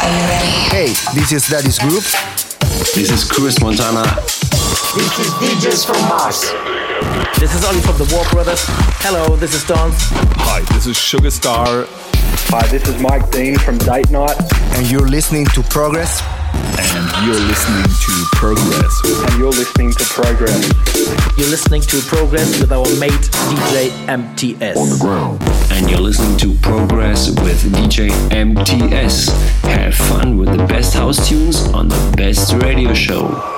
Hey, this is Daddy's Group. This is Chris Montana. This is DJs from Mars. This is Ollie from the War Brothers. Hello, this is Dance. Hi, this is Sugar Star. Hi, this is Mike Dean from Date Night. And you're listening to Progress. And you're listening to Progress. And you're listening to Progress. You're listening to Progress with our mate DJ MTS. On the ground. And you're listening to Progress with DJ MTS. Have fun with the best house tunes on the best radio show.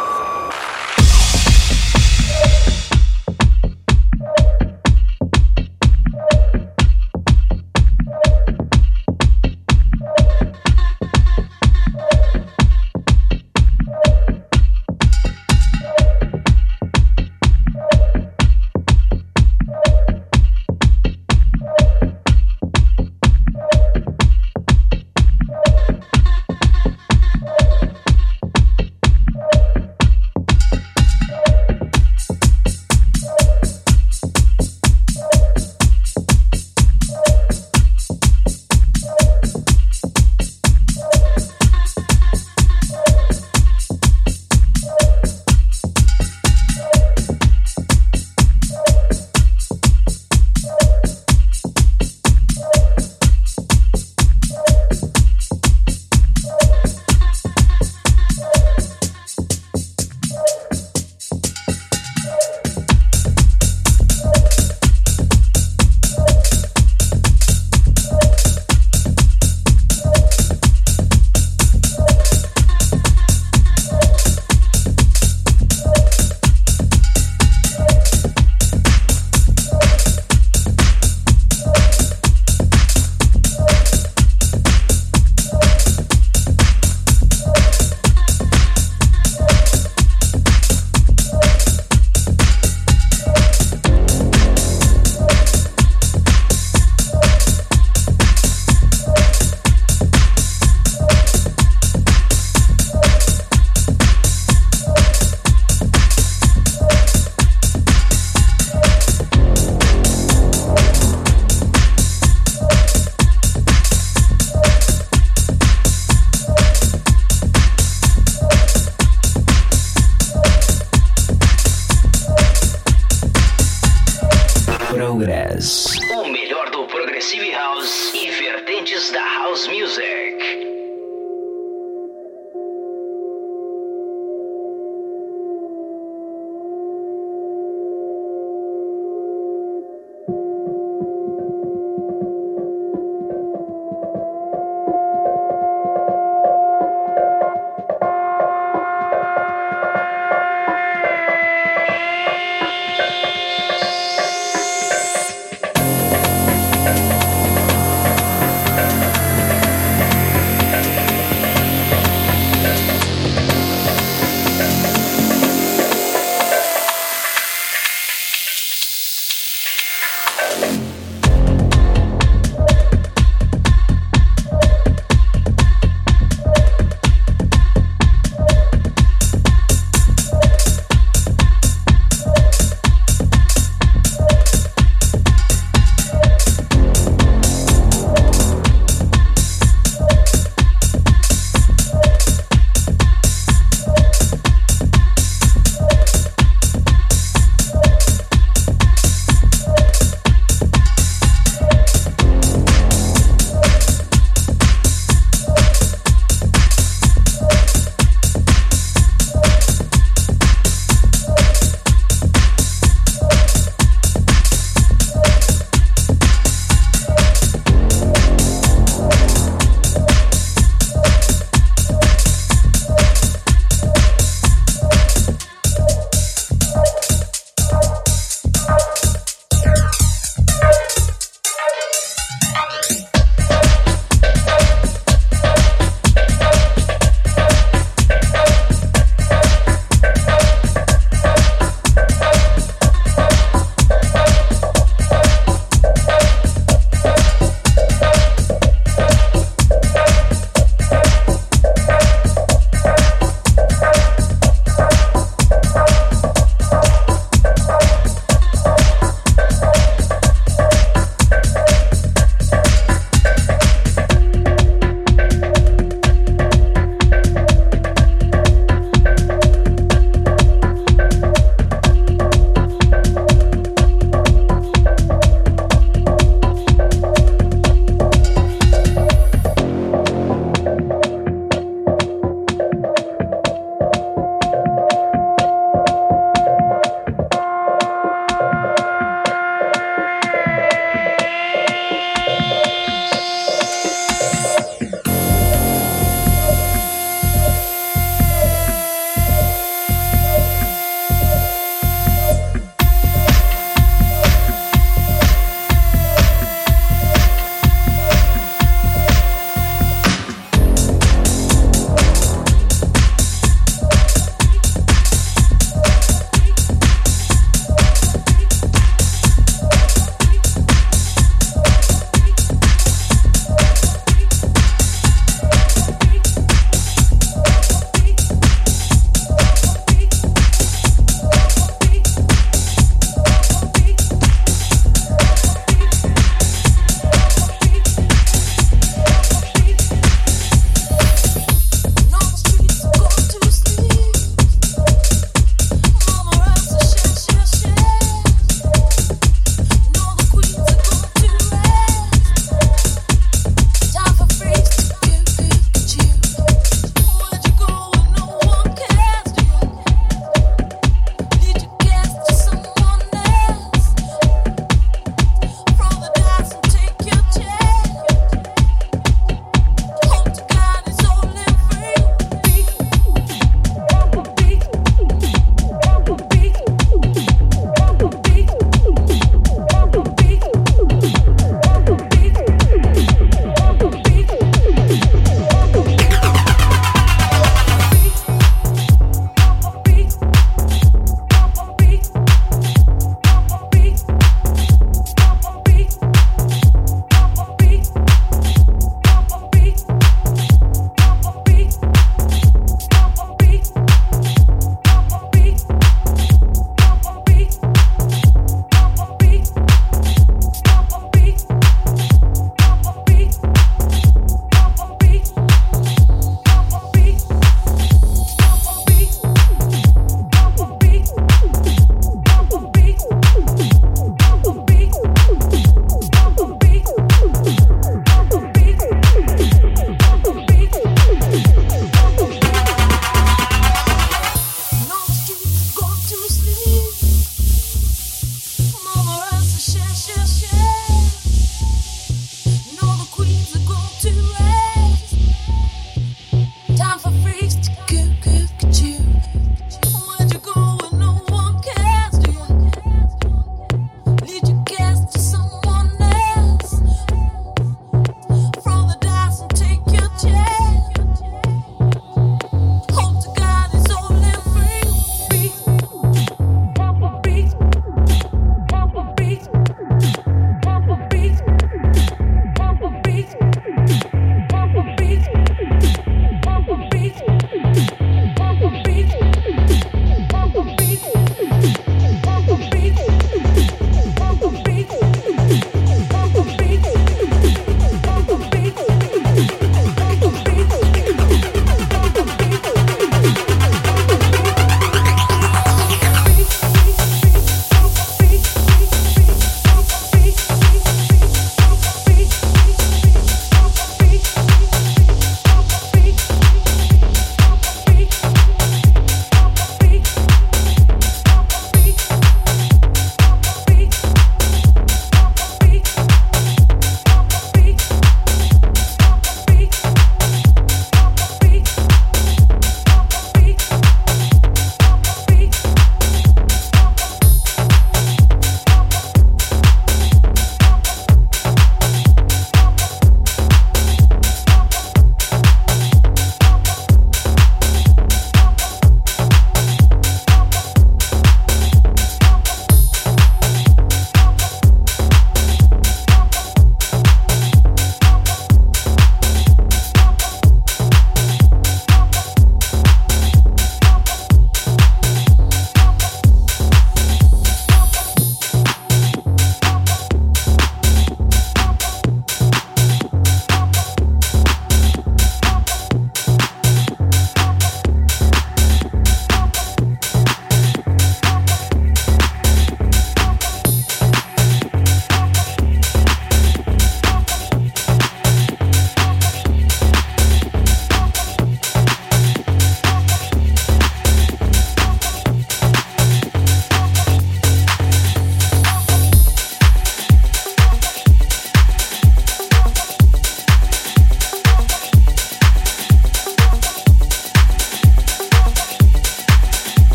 O melhor do Progressive House e vertentes da House Music.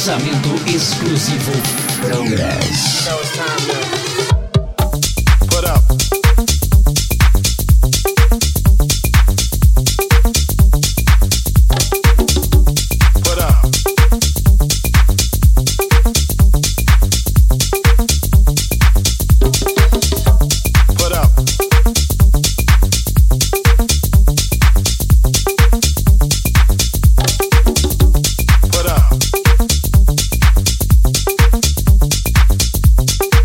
lançamento exclusivo Progress. Put up. Put up.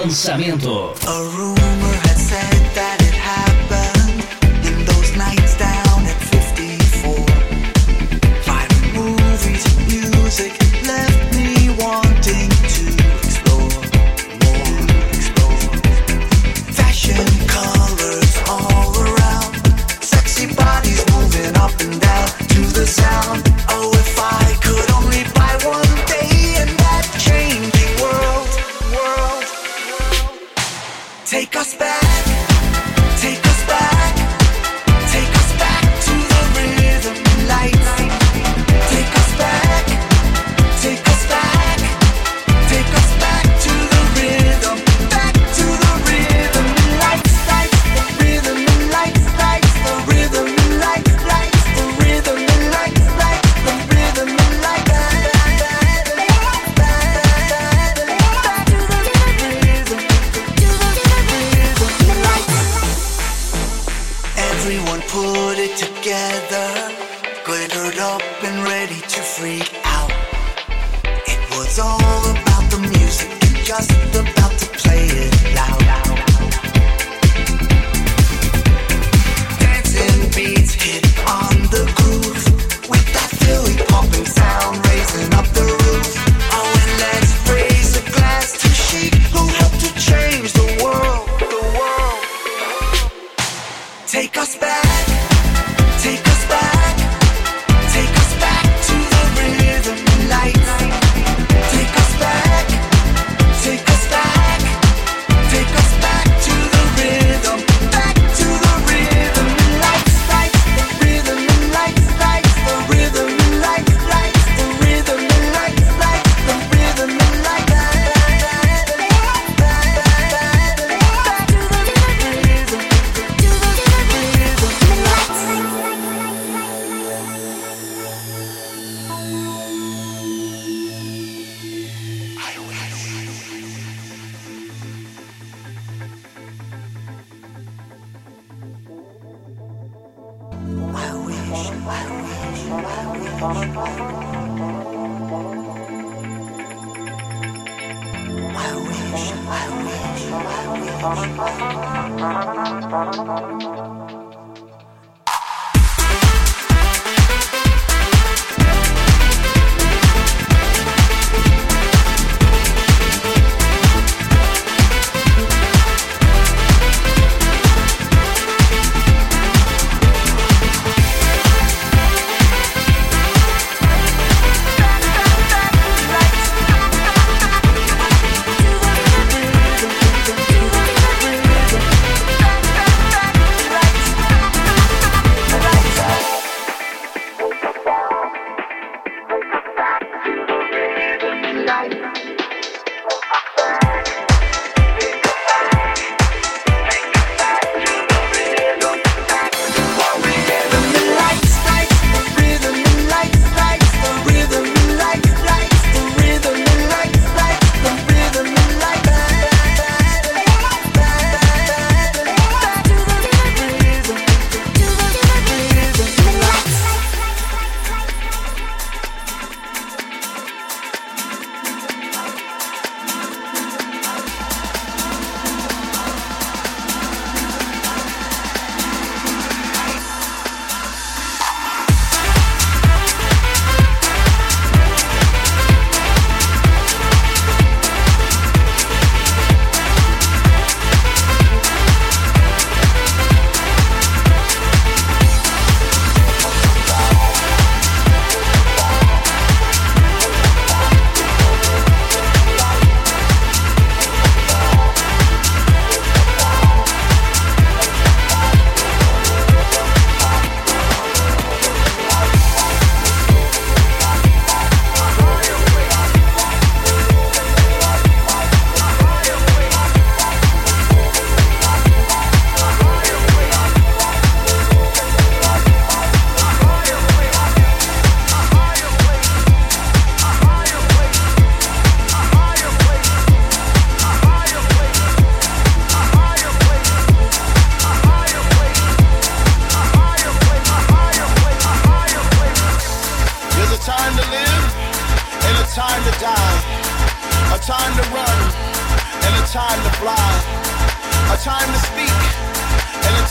lançamento. A rumor had said that it happened in those nights down at 54. Finding movies and music left me wanting to explore more, explore. Fashion colors all around, sexy bodies moving up and down to the sound. Oh, if I could only buy one day in that changing world. Take us back, take us back, take us back to the rhythm and lights. Take us back, take us back, take us back to the rhythm, back to the rhythm and lights, lights, the rhythm and lights, lights, the rhythm and lights, lights, the rhythm and lights, lights, the rhythm and lights. Everyone put it together, glittered up and ready to freak out. It was all about the music and just about to play it loud. Dancing beats hit on the groove with that Philly pumping sound raising up the roof. Oh, and let's raise a glass to Chic, who helped to change the world, the world. Take us back, take us back, take us back to the rhythm and lights. Take us back, take us back, take us back to the rhythm, back to the rhythm and lights, lights, the rhythm and lights, lights, the rhythm and lights, lights, the rhythm and lights, lights, the rhythm and lights.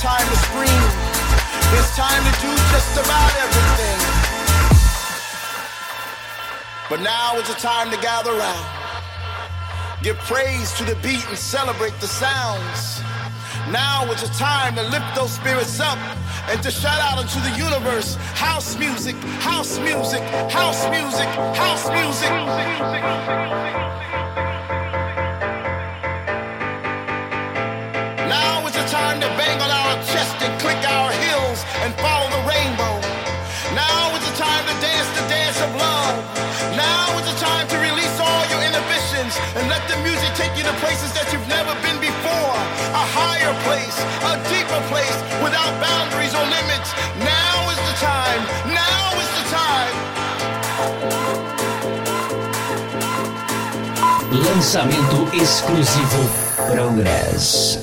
time to scream. It's time to do just about everything. But now is the time to gather round. Give praise to the beat and celebrate the sounds. Now is the time to lift those spirits up and to shout out into the universe. House music, house music, house music, house music. Now is the time to bang on our chest and click our heels and follow the rainbow. Now is the time to dance the dance of love. Now is the time to release all your inhibitions and let the music take you to places that you've never been before. A higher place, a deeper place, without boundaries or limits. Now is the time. Now is the time. Lançamento exclusivo Progress.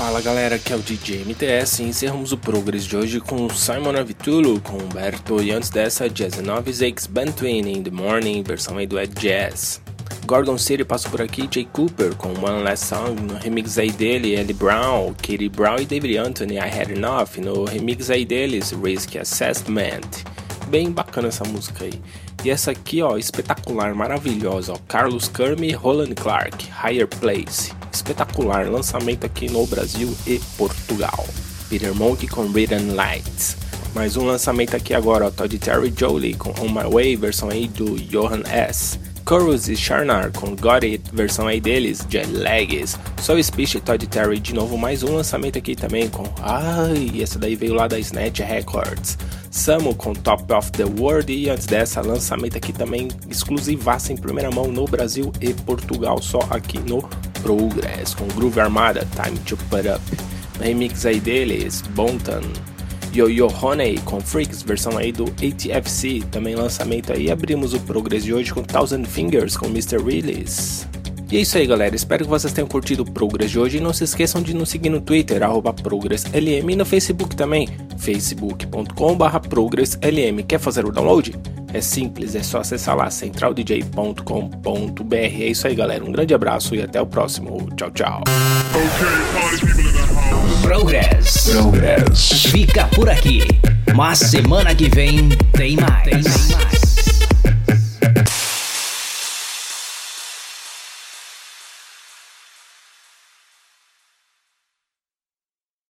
Fala galera, aqui é o DJ MTS e encerramos o Progress de hoje com Simon Avitulo, com Humberto e antes dessa Jazz 9 Zakes Bantwin in the Morning, versão aí do Ed Jazz. Gorgon City passou por aqui, Jay Cooper com One Last Song, no remix aí dele, Ellie Brown, Katie Brown e David Anthony, I Had Enough, no remix aí deles, Risk Assessment. Bem bacana essa música aí. E essa aqui, ó, espetacular, maravilhosa, ó, Carlos Kerm e Roland Clark, Higher Place. Espetacular, lançamento aqui no Brasil e Portugal. Peter Monk com Written Lights. Mais um lançamento aqui agora, ó, Todd Terry Jolie com On My Way, versão aí do Johan S. Chorus e Sharnar com Got It, versão aí deles, Jet Lags. Soul Speech e Todd Terry de novo, mais um lançamento aqui também com... Ai, essa daí veio lá da Snatch Records. Samu com Top of the World e antes dessa, lançamento aqui também exclusivaça em primeira mão no Brasil e Portugal, só aqui no Progress, com Groove Armada, Time to Put Up. No remix aí deles, Bontan. Yo-Yo Honey com Freaks, versão aí do ATFC, também lançamento aí. Abrimos o Progress de hoje com Thousand Fingers com Mr. Release. E é isso aí galera, espero que vocês tenham curtido o Progress de hoje e não se esqueçam de nos seguir no Twitter, @ProgressLM e no Facebook também, facebook.com/ProgressLM. Quer fazer o download? É simples, é só acessar lá, centraldj.com.br. É isso aí galera, um grande abraço e até o próximo, tchau tchau. Progress. Fica por aqui, mas semana que vem tem mais.